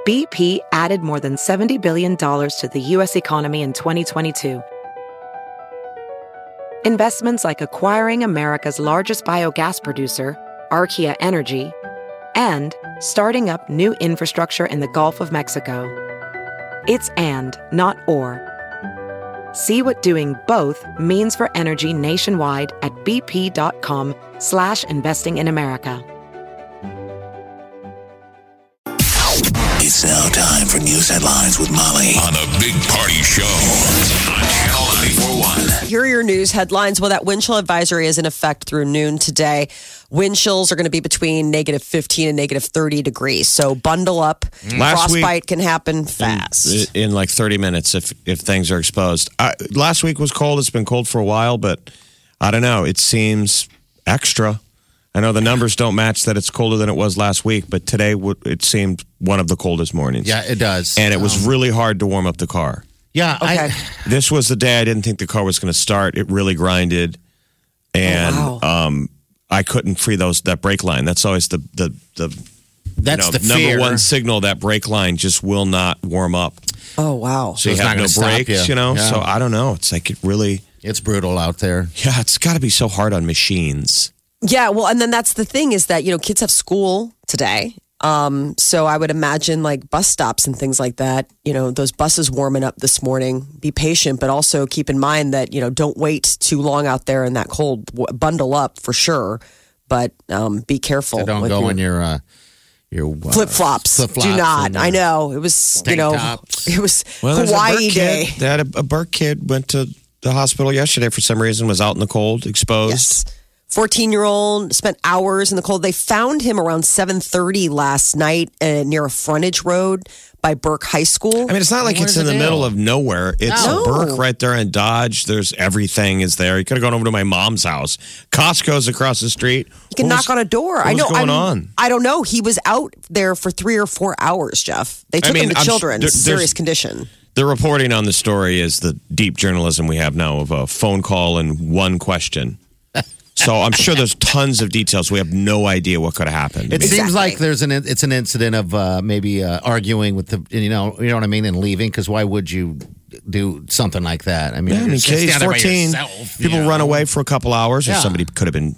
BP added more than $70 billion to the U.S. economy in 2022. Investments like acquiring America's largest biogas producer, Archaea Energy, and starting up new infrastructure in the Gulf of Mexico. It's and, not or. See what doing both means for energy nationwide at bp.com/investing in America. It's now time for news headlines with Molly on the Big Party Show on Channel 941. Here are your news headlines. Well, that wind chill advisory is in effect through noon today. Wind chills are going to be between negative 15 and negative 30 degrees. So bundle up. Frostbite can happen fast. In like 30 minutes if things are exposed. Last week was cold. It's been cold for a while, but I don't know. It seems extra. I know the numbers don't match that it's colder than it was last week, but today it seemed one of the coldest mornings. Yeah, it does. And it was really hard to warm up the car. Yeah. Okay. This was the day I didn't think the car was going to start. It really grinded. And I couldn't free that brake line. That's always the That's the fear. number one signal. That brake line just will not warm up. Oh, wow. So you it's have not no gonna brakes, stop you. you know? Yeah. So I don't know. It's like It's brutal out there. Yeah, it's got to be so hard on machines. Yeah, well, and then that's the thing is that, kids have school today. So I would imagine like bus stops and things like that, those buses warming up this morning. Be patient, but also keep in mind that, don't wait too long out there in that cold. Bundle up for sure, but be careful. So don't go in your flip flops. Do not. I know it was tops. it was There's Hawaii a Burke day. Kid. They had a Burke kid went to the hospital yesterday for some reason, was out in the cold, exposed. Yes. 14-year-old spent hours in the cold. They found him around 7:30 last night near a frontage road by Burke High School. I mean, it's not like it's in the middle of nowhere. It's No. Burke right there in Dodge. There's everything is there. You could have gone over to my mom's house. Costco's across the street. You can knock on a door. I know. What's going on? I don't know. He was out there for 3 or 4 hours, Jeff. They took him to children's, serious condition. The reporting on the story is the deep journalism we have now of a phone call and one question. So I'm sure there's tons of details. We have no idea what could have happened. It seems like it's an incident of maybe arguing with you know what I mean, and leaving. Because why would you do something like that? I mean, he's 14. People run away for a couple hours, or somebody could have been,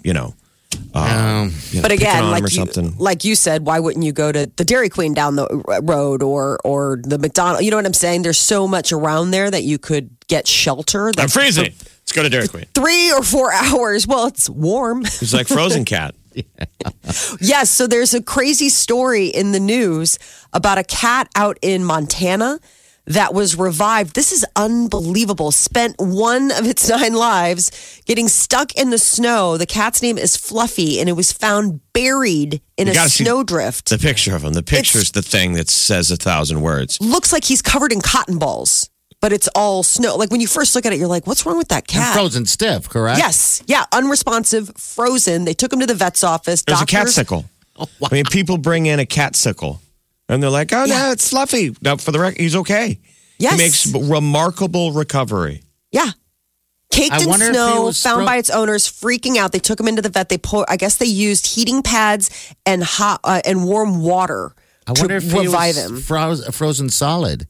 But again, like you said, why wouldn't you go to the Dairy Queen down the road or the McDonald's? You know what I'm saying? There's so much around there that you could get shelter. I'm freezing. Let's go to Dairy Queen. 3 or 4 hours. Well, it's warm. It's like Frozen Cat. Yes. So there's a crazy story in the news about a cat out in Montana that was revived. This is unbelievable. Spent one of its 9 lives getting stuck in the snow. The cat's name is Fluffy, and it was found buried in a snowdrift. The picture of him. The picture's the thing that says 1,000 words. Looks like he's covered in cotton balls, but it's all snow. Like when you first look at it, you're like, what's wrong with that cat? And frozen stiff, correct? Yes. Yeah. Unresponsive, frozen. They took him to the vet's office. There's a cat sickle. Oh, wow. I mean, people bring in a cat sickle. And they're like, oh, no, it's Fluffy. Now, for the record, he's okay. Yes. He makes remarkable recovery. Yeah. Caked in snow, found by its owners, freaking out. They took him into the vet. I guess they used heating pads and hot and warm water to revive him. Frozen solid.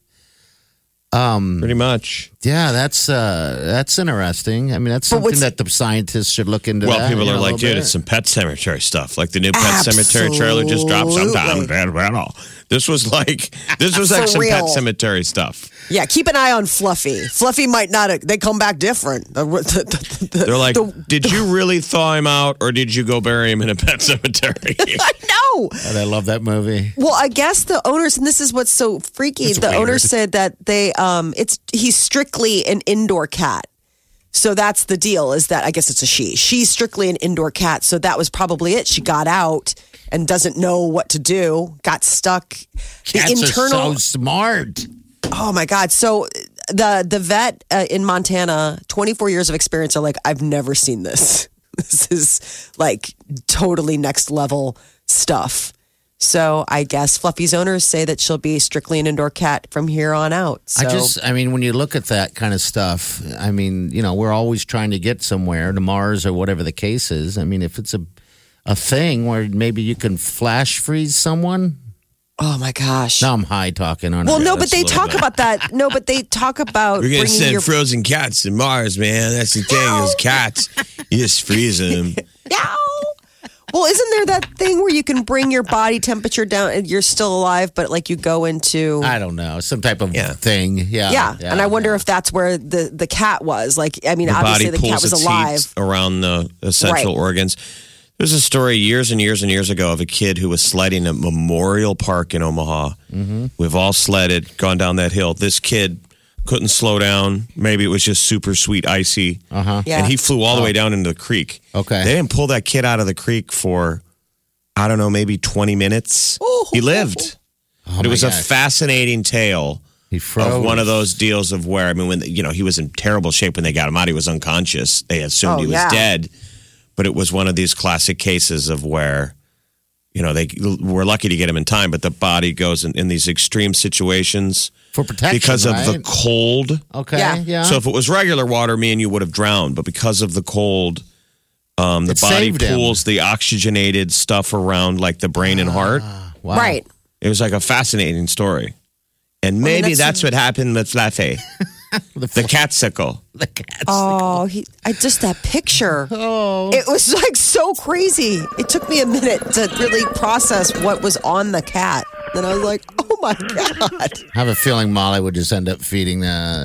Pretty much. Yeah, that's interesting. I mean, that's something that the scientists should look into. Well, people are like, dude, it's some Pet Cemetery stuff. Like the new Pet Cemetery trailer just dropped sometime. This was like some Pet Cemetery stuff. Yeah, keep an eye on Fluffy. Fluffy might not. They come back different. They're like, did you really thaw him out, or did you go bury him in a pet cemetery? I know. And I love that movie. Well, I guess the owners, and this is what's so freaky. The owners said that he's strictly an indoor cat. So that's the deal. Is that I guess it's a she. She's strictly an indoor cat. So that was probably it. She got out and doesn't know what to do. Got stuck. Cats are so smart. Oh my God. So the vet in Montana, 24 years of experience, are like, I've never seen this. This is like totally next level stuff. So I guess Fluffy's owners say that she'll be strictly an indoor cat from here on out. So. I mean, when you look at that kind of stuff, I mean, we're always trying to get somewhere to Mars or whatever the case is. I mean, if it's a thing where maybe you can flash freeze someone. Oh my gosh. Now I'm high talking on. Well, it. no, but that's a they little talk bit. about that. No, but they talk about We're gonna bringing send your frozen cats to Mars, man. That's the thing. Those cats, you just freeze them. Ow! Well, isn't there that thing where you can bring your body temperature down and you're still alive, but like you go into I don't know, some type of Yeah. thing. yeah. And I wonder if that's where the cat was. Like, I mean, The obviously body the cat pulls was its alive. heat around the essential Right. organs. There's a story years and years and years ago of a kid who was sledding at Memorial Park in Omaha. Mm-hmm. We've all sledded, gone down that hill. This kid couldn't slow down. Maybe it was just super sweet, icy. Uh-huh. Yeah. And he flew all the way down into the creek. Okay. They didn't pull that kid out of the creek for, I don't know, maybe 20 minutes. He lived. But it was a gosh. fascinating tale He froze. of one of those deals of where, I mean, when, he was in terrible shape when they got him out. He was unconscious. They assumed Oh, he was yeah. dead. But it was one of these classic cases of where, they were lucky to get him in time, but the body goes in these extreme situations for protection because of the right? cold. Okay. Yeah. Yeah. So if it was regular water, me and you would have drowned. But because of the cold, the It body saved him. pulls the oxygenated stuff around like the brain and heart. Wow. Right. It was like a fascinating story. And maybe that's what happened with Fluffy, the catsicle. The cats. Oh, just that picture. Oh. It was like so crazy. It took me a minute to really process what was on the cat. Then I was like, oh my God. I have a feeling Molly would just end up feeding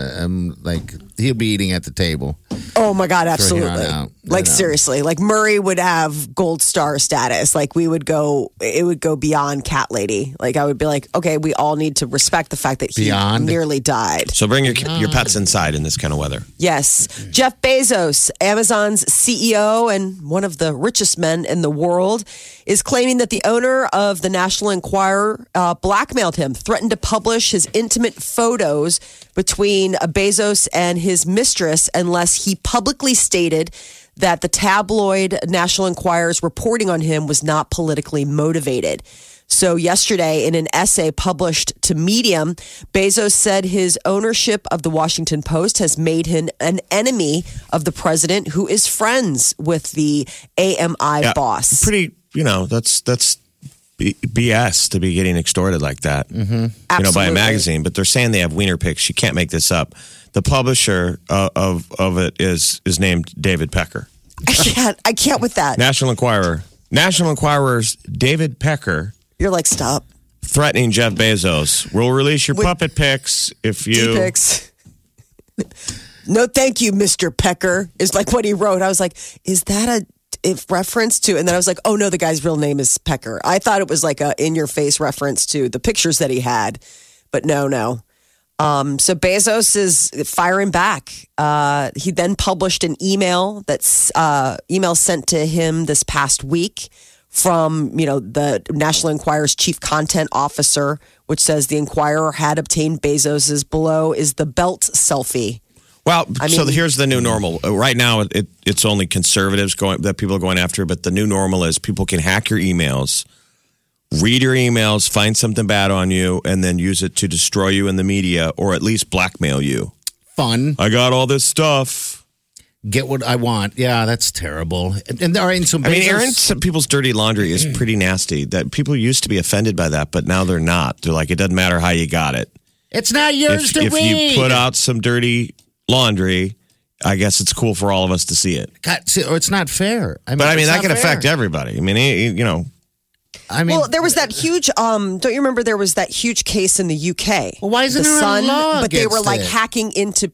like he'll be eating at the table. Oh my God, here absolutely. on out, Like seriously, like Murray would have gold star status. Like it would go beyond cat lady. Like I would be like, okay, we all need to respect the fact that he Beyond? nearly died. So bring your pets inside in this kind of weather. Yes. Jeff Bezos, Amazon's CEO and one of the richest men in the world, is claiming that the owner of the National Enquirer blackmailed him, threatened to publish his intimate photos between Bezos and his mistress unless he publicly stated that the tabloid National Enquirer's reporting on him was not politically motivated. So yesterday, in an essay published to Medium, Bezos said his ownership of the Washington Post has made him an enemy of the president who is friends with the AMI boss. Pretty, that's BS to be getting extorted like that. Mm-hmm. By a Absolutely. magazine. But they're saying they have wiener pics. You can't make this up. The publisher of it is named David Pecker. I can't with that. National Enquirer. National Enquirer's David Pecker You're like, stop. threatening Jeff Bezos. We'll release your puppet pics if you. D-pics. No, thank you, Mr. Pecker, is like what he wrote. I was like, is that a reference to? And then I was like, oh no, the guy's real name is Pecker. I thought it was like a in-your-face reference to the pictures that he had, but no. So Bezos is firing back. He then published an email email sent to him this past week from, the National Enquirer's chief content officer, which says the Enquirer had obtained Bezos's below is the belt selfie. Well, so mean- here's the new normal. Right now, it's only conservatives that people are going after, but the new normal is people can hack your emails, read your emails, find something bad on you, and then use it to destroy you in the media or at least blackmail you. Fun. I got all this stuff. Get what I want. Yeah, that's terrible. And there are some. I mean, Bezos- airing some people's dirty laundry is pretty nasty. That people used to be offended by that, but now they're not. They're like, it doesn't matter how you got it. It's not yours to If read. you put out some dirty laundry, I guess it's cool for all of us to see it. God, see, or it's not fair. But I mean, that can affect everybody. I mean, I mean, Well, there was that huge. Don't you remember there was that huge case in the UK? Well, why isn't the there a Sun? law But they were against like it? hacking into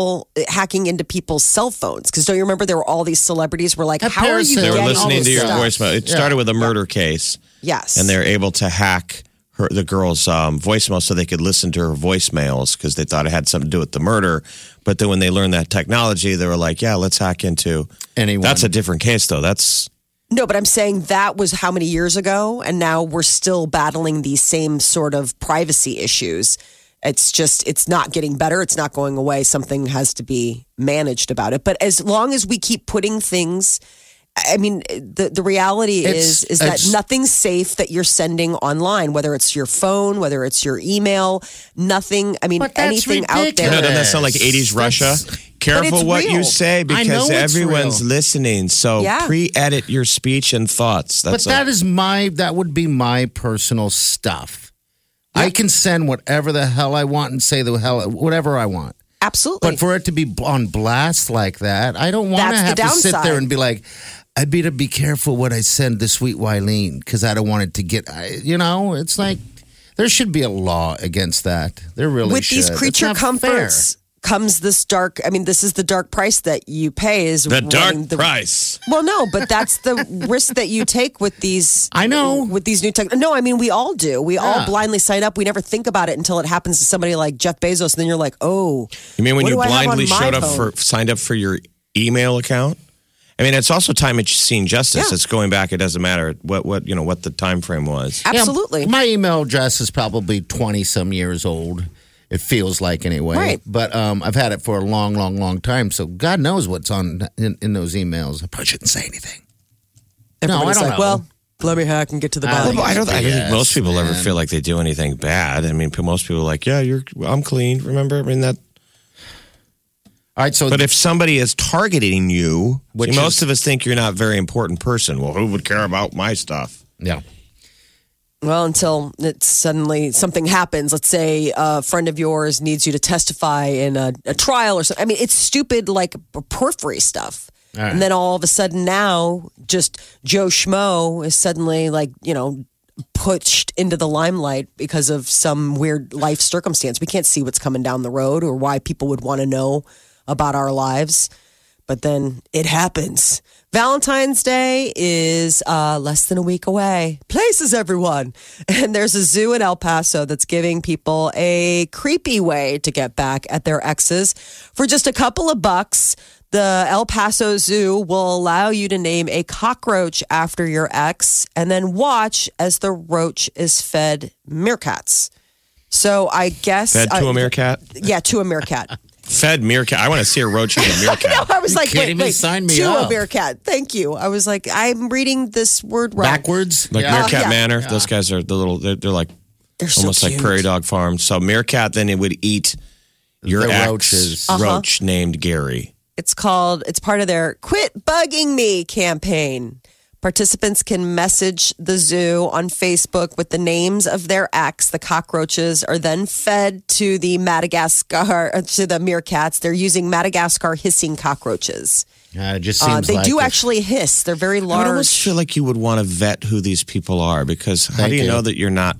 people's cell phones. Because don't you remember there were all these celebrities were like, That how are you parasite- they were getting all listening this to your stuff? voicemail. It started with a murder case, Yes, and they're able to hack the girl's voicemail so they could listen to her voicemails because they thought it had something to do with the murder. But then when they learned that technology, they were like, yeah, let's hack into Anyone. That's a different case, though. That's No, but I'm saying that was how many years ago, and now we're still battling these same sort of privacy issues. It's not getting better. It's not going away. Something has to be managed about it. But as long as we keep putting things, I mean, the reality is that nothing's safe that you're sending online, whether it's your phone, whether it's your email, nothing. I mean, But that's anything out ridiculous. there. doesn't that sound like 80s Russia? Careful it's what you real. say I because know it's everyone's real. listening. So Yeah. pre-edit your speech and thoughts. But That's that would be my personal stuff. I can send whatever the hell I want and say the hell whatever I want. Absolutely. But for it to be on blast like that, I don't want to have to sit there and be like, I'd better be careful what I send to Sweet Wileen because I don't want it to get, it's like there should be a law against that. There really With should. these creature comforts comes this dark, this is the dark price that you pay is the dark price. Well, no, but that's the risk that you take with these. I know. With these new tech. No, we all do. We all blindly sign up. We never think about it until it happens to somebody like Jeff Bezos. And then you're like, oh. You mean when you blindly phone? signed up for your email account? It's also time machine justice. Yeah. It's going back. It doesn't matter what the time frame was. Absolutely. Yeah, my email address is probably 20-some years old. It feels like anyway. Right. But I've had it for a long, long, long time. So God knows what's in those emails. I probably shouldn't say anything. Everybody's I don't like, know. well, let me hack and get to the bottom. I don't think most people ever feel like they do anything bad. Most people are like, yeah, I'm clean. Remember? That. All right, so but if somebody is targeting you, Which most of us think you're not a very important person. Well, who would care about my stuff? Yeah. Well, until it's suddenly something happens. Let's say a friend of yours needs you to testify in a trial or something. It's stupid, like periphery stuff. Right. And then all of a sudden now, just Joe Schmo is suddenly pushed into the limelight because of some weird life circumstance. We can't see what's coming down the road or why people would want to know about our lives. But then it happens. Valentine's Day is less than a week away. Places, everyone. And there's a zoo in El Paso that's giving people a creepy way to get back at their exes. For just a couple of bucks, the El Paso Zoo will allow you to name a cockroach after your ex and then watch as the roach is fed meerkats. So I guess... Fed to a meerkat? Yeah, to a meerkat. Fed meerkat. I want to see a roach eat a meerkat. I was like, wait, sign me to up. a meerkat. Thank you. I was like, I'm reading this word wrong. Backwards? Like Meerkat Yeah. Manor. Yeah. Those guys are they're like They're so almost like cute. prairie dog farms. So meerkat, then it would eat your The ex roaches. roach named Gary. It's part of their Quit Bugging Me campaign. Participants can message the zoo on Facebook with the names of their ex. The cockroaches are then fed to the meerkats. They're using Madagascar hissing cockroaches. It just seems they like do actually hiss. They're very I would large. almost feel like you would want to vet who these people are because how Thank do you you. know that you're not,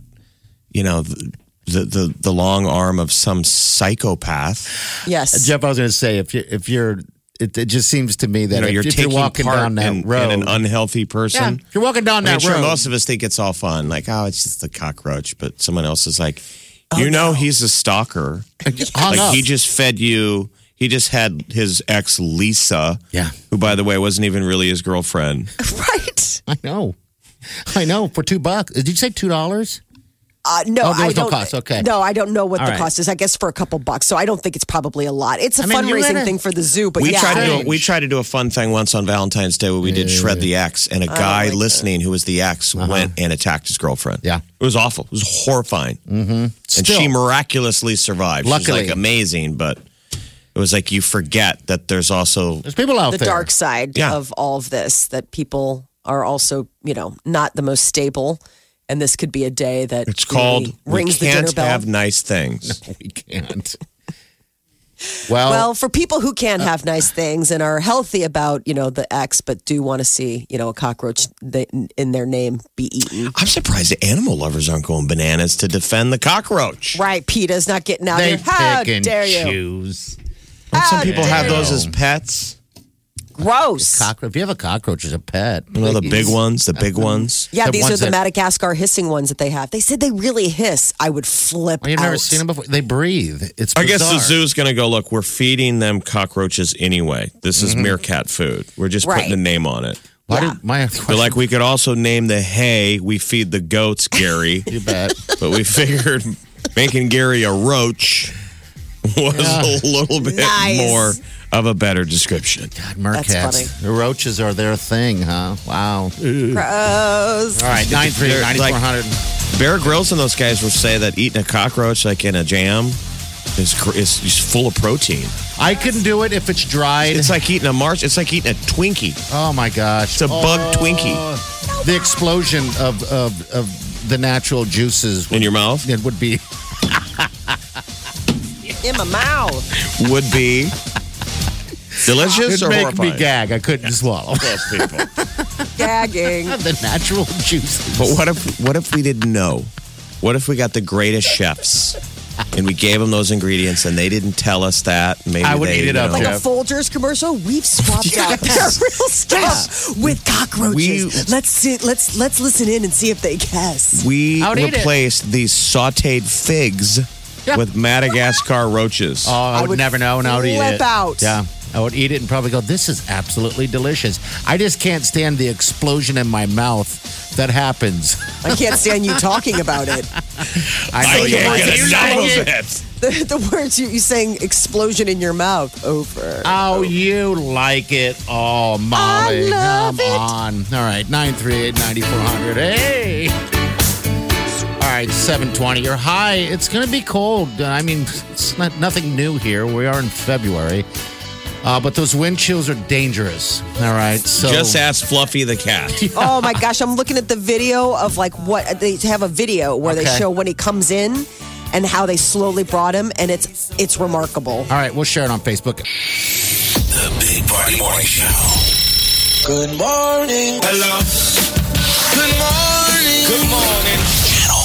the long arm of some psychopath? Yes. Jeff, I was going to say, if you're, it just seems to me that You're if you're taking walking part down that in road, an unhealthy person. if you're walking down that Sure, road, most of us think it's all fun. Like, oh, it's just the cockroach. But someone else is like, he's a stalker. hung up. He just fed you. He just had his ex, Lisa, who, by the way, wasn't even really his girlfriend. Right. I know, for $2. Did you say $2? No, there I was no don't. cost. Okay. No, I don't know what All the right. cost is. I guess for a couple bucks. So I don't think it's probably a lot. It's a you're fundraising at a- thing for the zoo. But We yeah, tried to do a fun thing once on Valentine's Day where we did Shred the Ex, and a guy listening who was the ex went and attacked his girlfriend. Yeah. It was awful. It was horrifying. Mm-hmm. And Still. she miraculously survived. Luckily. She's like amazing, but it was like you forget that there's also There's people out the there. dark side Yeah. of all of this. That people are also, not the most stable. And this could be a day that it's called really rings We the dinner Can't bell. Have Nice Things. We can't. Well, Well, for people who can have nice things and are healthy about, the ex, but do want to see, a cockroach in their name be eaten. I'm surprised the animal lovers aren't going bananas to defend the cockroach. Right, PETA's not getting out they here. How pick and dare you? choose. Don't some How people have dare those you. as pets? Gross. If you have a cockroach as a pet, You know, the big please. ones, the big ones. Yeah, The these are ones the that- Madagascar hissing ones that they have. They said they really hiss. I would flip Well, you've out. never seen them before. They breathe. It's I guess the bizarre. zoo's going to go, look, we're feeding them cockroaches anyway. This is meerkat food. We're just Right. putting a name on it. Why Yeah. did my They're like, we could also name the hay we feed the goats, Gary. you bet. But we figured making Gary a roach was a little bit Nice. more of a better description. God, That's funny. meerkats. The roaches are their thing, huh? Wow. Gross. All right, 938-9400. Bear Grylls and those guys will say that eating a cockroach like in a jam is full of protein. I couldn't do it if it's dried. It's like eating it's like eating a Twinkie. Oh my gosh. It's a bug Twinkie. The explosion of the natural juices in your mouth. It would be in my mouth. Would be delicious or make horrifying? me gag. I couldn't swallow. Those people. Gagging. The natural juices. But what if we didn't know? What if we got the greatest chefs and we gave them those ingredients and they didn't tell us that? Maybe I would they, eat it up, Like Jeff. a Folgers commercial, we've swapped out their real stuff with cockroaches. Let's listen in and see if they guess. We I would eat it. replaced these sautéed figs with Madagascar roaches. Oh, I would never know, and I would eat flip it. out. Yeah, I would eat it and probably go, this is absolutely delicious. I just can't stand the explosion in my mouth that happens. I can't stand you talking about it. I know you you like like The it. words you saying explosion in your mouth over. Oh, you like it. Oh, Molly. I love Come on. All right, 938-9400. Hey. All right, 720. Your high, it's going to be cold. I mean, it's nothing new here. We are in February. But those wind chills are dangerous. All right. So Just ask Fluffy the cat. Oh my gosh, I'm looking at the video of like what they have a video where they Okay. show when he comes in and how they slowly brought him, and it's remarkable. All right, we'll share it on Facebook. The Big Party Morning Show. Good morning. Hello. Good morning. Good morning. Channel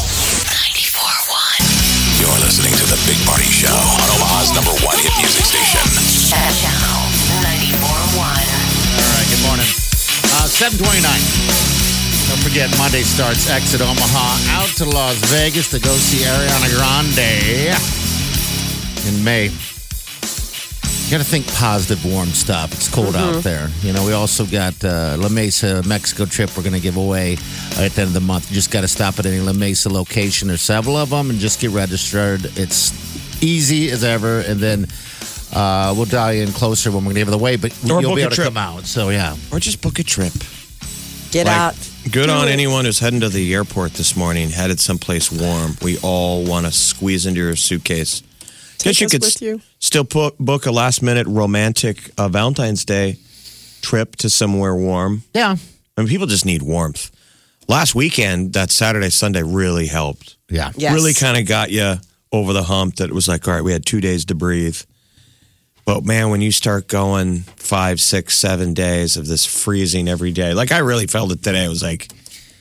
94.1. You're listening to the Big Party Show on Omaha's #1 hit music station. Channel 94.1. All right, good morning. 729. Don't forget, Monday starts Exit Omaha out to Las Vegas to go see Ariana Grande in May. You got to think positive, warm stuff. It's cold out there. You know, we also got La Mesa, Mexico trip we're going to give away at the end of the month. You just got to stop at any La Mesa location. There's several of them and just get registered. It's easy as ever. And then we'll dial you in closer when we're going to give it away. But Or you'll book be a able to trip. come out. So, yeah. Or just book a trip. Get out. Good on anyone who's heading to the airport this morning, headed someplace warm. We all want to squeeze into your suitcase. Guess you us could with you. still book a last-minute romantic Valentine's Day trip to somewhere warm. Yeah. I mean, people just need warmth. Last weekend, that Saturday, Sunday really helped. Yeah. Yes. Really kind of got you over the hump that it was like, all right, we had 2 days to breathe. But man, when you start going 5, 6, 7 days of this freezing every day, like I really felt it today. I was like,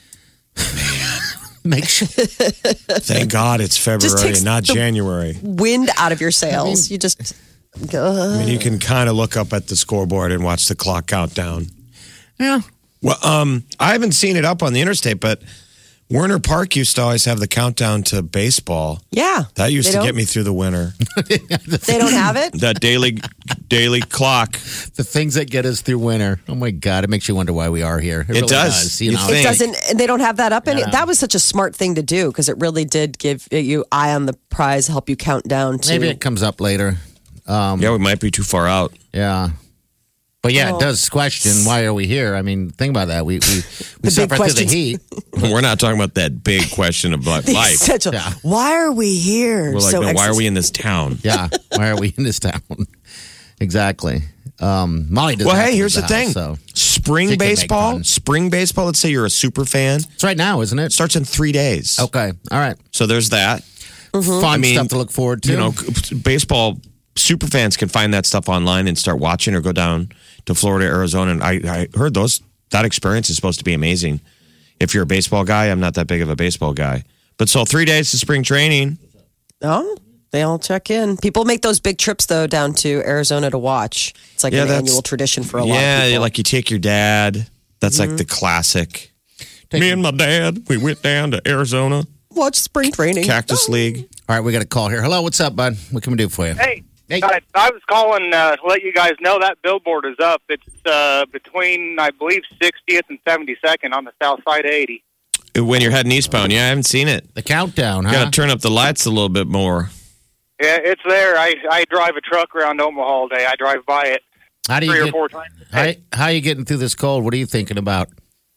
Make sure. thank God it's February takes and not the- January. Wind out of your sails. You just go. I mean, you can kind of look up at the scoreboard and watch the clock count down. Yeah. Well, I haven't seen it up on the interstate, but Werner Park used to always have the countdown to baseball. Yeah. That used They to don't? get me through the winter. They don't have it? That daily clock. The things that get us through winter. Oh my God, it makes you wonder why we are here. It really does. you You know? think- It doesn't, and they don't have that up. Yeah. That was such a smart thing to do because it really did give you eye on the prize, help you count down to. Maybe it comes up later. Yeah, we might be too far out. Yeah. But yeah, Oh. it does question why are we here? I mean, think about that. We big suffer through the questions. heat. We're not talking about that big question of life. Essential. Yeah. Why are we here? We're like, So no, why are exis- we in this town? Yeah. Why are we in this town? Exactly. Molly does. Well, have hey, to here's the leave thing. house, so Spring She can make baseball, fun. spring baseball, let's say you're a super fan, it's right now, isn't it? starts in 3 days. Okay. All right. So there's that. Fun mean, stuff to look forward to. You know, baseball super fans can find that stuff online and start watching or go down to Florida, Arizona. And I heard that experience is supposed to be amazing. If you're a baseball guy, I'm not that big of a baseball guy. But so 3 days to spring training. Oh, they all check in. People make those big trips though down to Arizona to watch. It's like Yeah, an that's- annual tradition for a lot of Yeah, people. like you take your dad. That's like the classic. Me and my dad, we went down to Arizona, watch spring training. Cactus League. All right, we got a call here. Hello, what's up, bud? What can we do for you? Hey, Hey. I was calling to let you guys know that billboard is up. It's between, I believe, 60th and 72nd on the south side of 80. When you're heading eastbound, yeah, I haven't seen it. The countdown, huh? Got to turn up the lights a little bit more. Yeah, it's there. I drive a truck around Omaha all day. I drive by it How do you 3 or get, 4 times a day. how are you getting through this cold? What are you thinking about?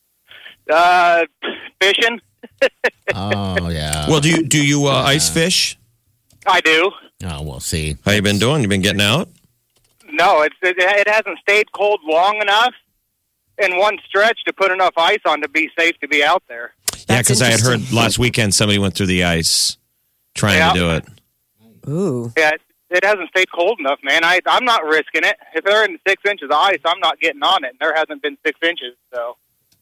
Fishing? Oh, yeah. Well, do you ice fish? I do. Oh, we'll see. How you been doing? You been getting out? No, it hasn't stayed cold long enough in one stretch to put enough ice on to be safe to be out there. Yeah, because I had heard last weekend somebody went through the ice trying to do it. Ooh. Yeah, it hasn't stayed cold enough, man. I'm not risking it. If they're in 6 inches of ice, I'm not getting on it. And there hasn't been 6 inches, so.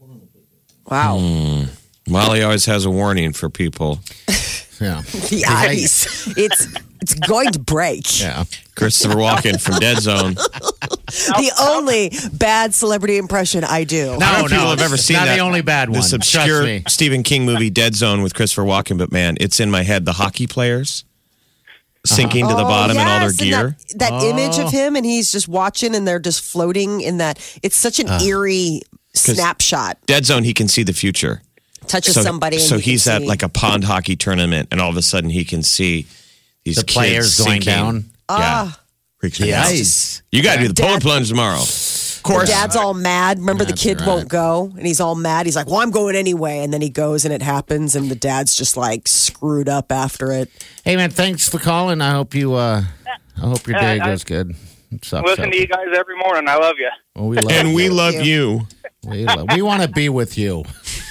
Wow. Molly always has a warning for people. Yeah. The ice. It's going to break. Yeah. Christopher Walken from Dead Zone. The only bad celebrity impression I do. I don't know if people have ever seen not that. the only bad one. This Trust obscure me. Stephen King movie, Dead Zone, with Christopher Walken. But man, it's in my head. The hockey players sinking to the bottom in all their yes, gear. and that image of him, and he's just watching, and they're just floating in that. It's such an eerie snapshot. Dead Zone, he can see the future. Touches somebody. And so you can he's at see. like a pond hockey tournament, and all of a sudden he can see these The players kids going sinking. down. Yeah. Freaks me out. Ice. You got to do the polar Dad- plunge tomorrow. Of course. Dad's all mad. Remember, the That's kid right. won't go, and he's all mad. He's like, "Well, I'm going anyway," and then he goes, and it happens, and the dad's just like screwed up after it. Hey, man, thanks for calling. I hope your day goes good. Listen to you guys every morning. I love you. Well, we love And you. we love you. We want to be with you.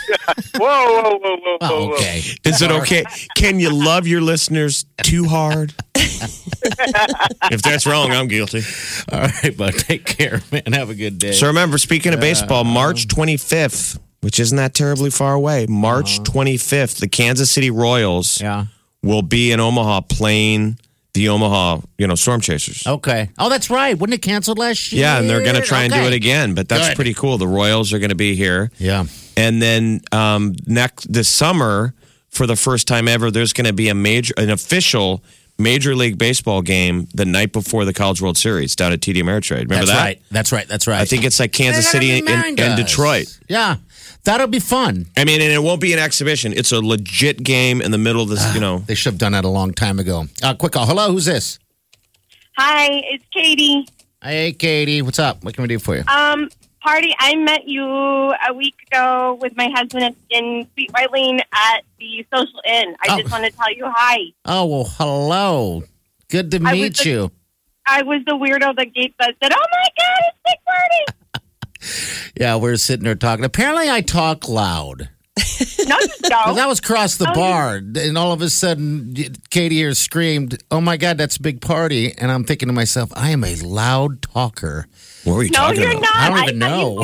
Whoa. Oh, okay. Is it okay? Can you love your listeners too hard? If that's wrong, I'm guilty. All right, bud. Take care, man. Have a good day. So remember, speaking of baseball, March 25th, which isn't that terribly far away, March 25th, the Kansas City Royals Yeah. will be in Omaha playing the Omaha, Storm Chasers. Okay. Oh, that's right. Wasn't it canceled last year? Yeah, and they're going to try and do Okay. it again, but that's Good. pretty cool. The Royals are going to be here. Yeah. And then this summer, for the first time ever, there's going to be an official Major League Baseball game the night before the College World Series down at TD Ameritrade. Remember That's that? right. That's right. I think it's like Kansas City and Detroit. Yeah. That'll be fun. I mean, and it won't be an exhibition. It's a legit game in the middle of this, They should have done that a long time ago. Quick call. Hello, who's this? Hi, it's Katie. Hey, Katie. What's up? What can we do for you? Party, I met you a week ago with my husband in Sweet Wileen at the Social Inn. I just want to tell you hi. Oh, well, hello. Good to meet you. I was the weirdo that said, "Oh my God, it's Big Party!" Yeah, we're sitting there talking. Apparently, I talk loud. No, you Because don't. I was across the bar, and all of a sudden, Katie here screamed, "Oh my God, that's Big Party!" And I'm thinking to myself, I am a loud talker. What were you No, talking you're about? not. I don't even know.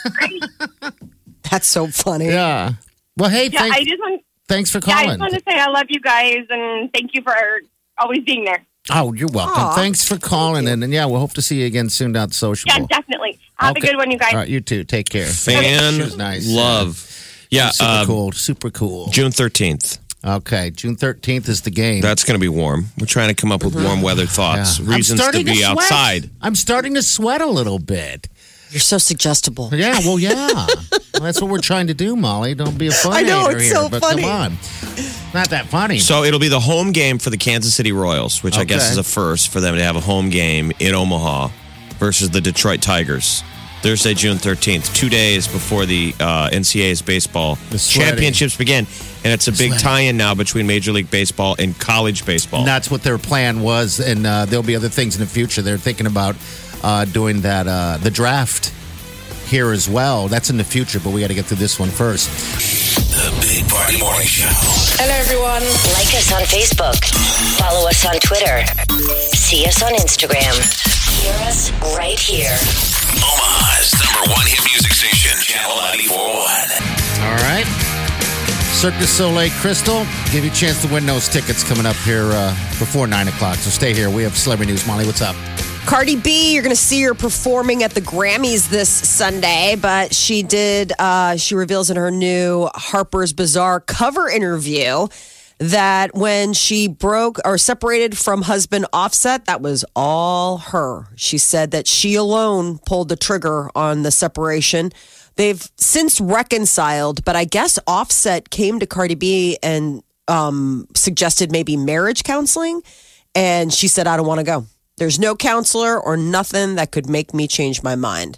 That's so funny. Yeah. Well, hey, Yeah, thanks for I calling. just want to say I love you guys and thank you for always being there. Oh, you're welcome. Aw. Thanks for calling, and yeah, we'll hope to see you again soon down at the Social Yeah, Bowl. definitely. Have Okay. a good one, you guys. All right, you too. Take care. Fan She was nice. love. Yeah, Super cool. Super cool. June 13th. Okay, June 13th is the game. That's going to be warm. We're trying to come up with warm weather thoughts, I'm reasons to starting be sweat. outside. I'm starting to sweat a little bit. You're so suggestible. Yeah, well, yeah. Well, that's what we're trying to do, Molly. Don't be a funny I know, hater it's here, so but funny. come on. Not that funny. So it'll be the home game for the Kansas City Royals, which I guess Okay. is a first for them to have a home game in Omaha versus the Detroit Tigers. Thursday, June 13th, 2 days before the NCAA's baseball The sweating. championships begin. And it's a big Sweating. tie-in now between Major League Baseball and college baseball. And that's what their plan was, and there'll be other things in the future. They're thinking about doing that, the draft here as well. That's in the future, but we got to get through this one first. The Big Party Morning Show. Hello, everyone. Like us on Facebook. Follow us on Twitter. See us on Instagram. Hear us right here. Omaha's #1 hit music station, Channel 94.1. All right. Cirque du Soleil Crystal. Give you a chance to win those tickets coming up here before 9 o'clock. So stay here. We have celebrity news. Molly, what's up? Cardi B, you're going to see her performing at the Grammys this Sunday, but she reveals in her new Harper's Bazaar cover interview that when she broke or separated from husband Offset, that was all her. She said that she alone pulled the trigger on the separation. They've since reconciled, but I guess Offset came to Cardi B and suggested maybe marriage counseling, and she said, I don't want to go. There's no counselor or nothing that could make me change my mind.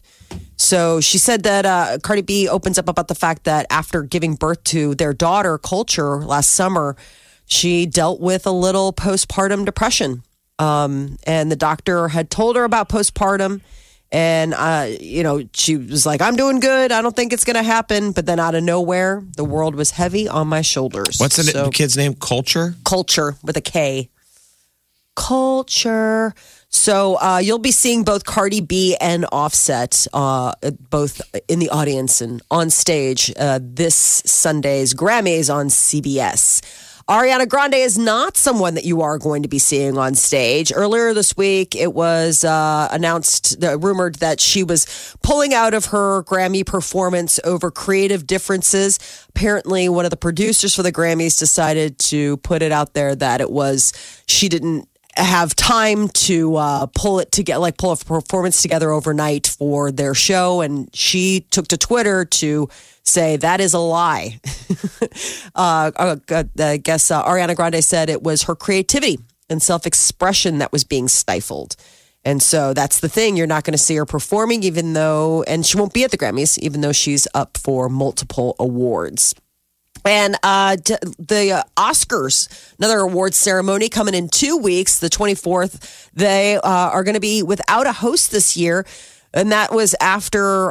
So she said that Cardi B opens up about the fact that after giving birth to their daughter, Culture, last summer, she dealt with a little postpartum depression. And the doctor had told her about postpartum And, she was like, I'm doing good. I don't think it's going to happen. But then out of nowhere, the world was heavy on my shoulders. What's the kid's name? Culture? Culture with a K. Culture. So you'll be seeing both Cardi B and Offset both in the audience and on stage this Sunday's Grammys on CBS. Ariana Grande is not someone that you are going to be seeing on stage. Earlier this week, it was rumored that she was pulling out of her Grammy performance over creative differences. Apparently, one of the producers for the Grammys decided to put it out there that she didn't have time to pull a performance together overnight for their show, and she took to Twitter to say that is a lie. I guess Ariana Grande said it was her creativity and self-expression that was being stifled. And so that's the thing. You're not going to see her performing, and she won't be at the Grammys, even though she's up for multiple awards. And the Oscars, another awards ceremony coming in 2 weeks, the 24th. They are going to be without a host this year. And that was after,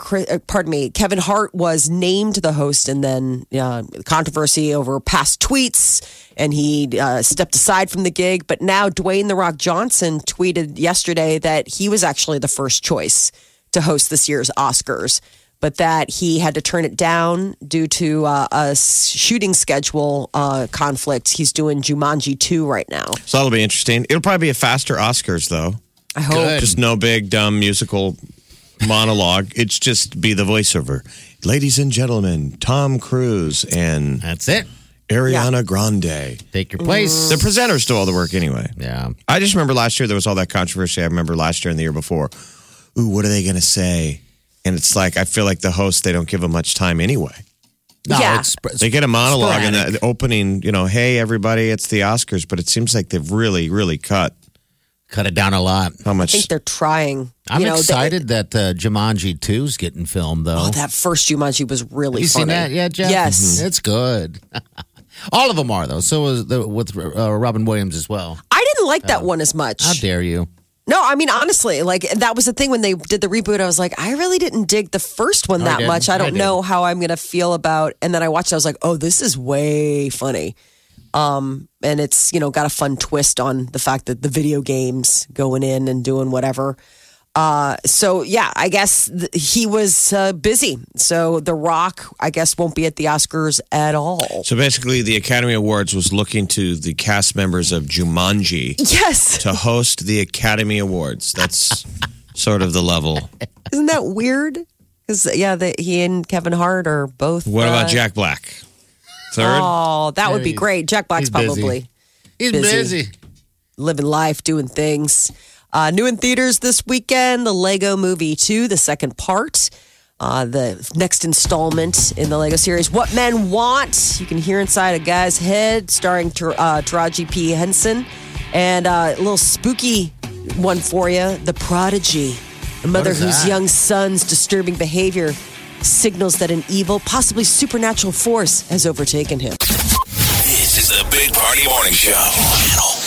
Kevin Hart was named the host, and then controversy over past tweets, and he stepped aside from the gig. But now Dwayne "The Rock" Johnson tweeted yesterday that he was actually the first choice to host this year's Oscars, but that he had to turn it down due to a shooting schedule conflict. He's doing Jumanji 2 right now. So that'll be interesting. It'll probably be a faster Oscars, though. I hope. Good. Just no big, dumb musical monologue. It's just be the voiceover. Ladies and gentlemen, Tom Cruise and That's it. Ariana Grande. Take your place. The presenters do all the work anyway. Yeah. I just remember last year there was all that controversy. I remember last year and the year before. Ooh, what are they going to say? And it's like, I feel like the host, they don't give them much time anyway. No, Yeah. They get a monologue in sporadic. the opening, hey, everybody, it's the Oscars. But it seems like they've really, really cut it down a lot. how I much. think they're trying. I'm excited that Jumanji 2's getting filmed, though. Oh, that first Jumanji was really you funny. seen that yet, Jeff? Yes. It's good. All of them are, though. So was with Robin Williams as well. I didn't like that one as much. How dare you? No, I mean, honestly, that was the thing when they did the reboot. I was like, I really didn't dig the first one that much. I don't know how I'm going to feel about. And then I watched it. I was like, oh, this is way funny. And it's, got a fun twist on the fact that the video games going in and doing whatever. So, yeah, I guess he was busy. So The Rock, I guess, won't be at the Oscars at all. So basically, the Academy Awards was looking to the cast members of Jumanji Yes. to host the Academy Awards. That's sort of the level. Isn't that weird? Because, he and Kevin Hart are both. What about Jack Black? Third? Oh, that would be great. Jack Black's he's busy. probably He's Busy. busy. living life, doing things. New in theaters this weekend, the Lego Movie 2, the second part. The next installment in the Lego series, What Men Want. You can hear inside a guy's head, starring Taraji P. Henson. And a little spooky one for you, The Prodigy. A mother whose young son's disturbing behavior signals that an evil, possibly supernatural force has overtaken him. This is the Big Party Morning Show. Channel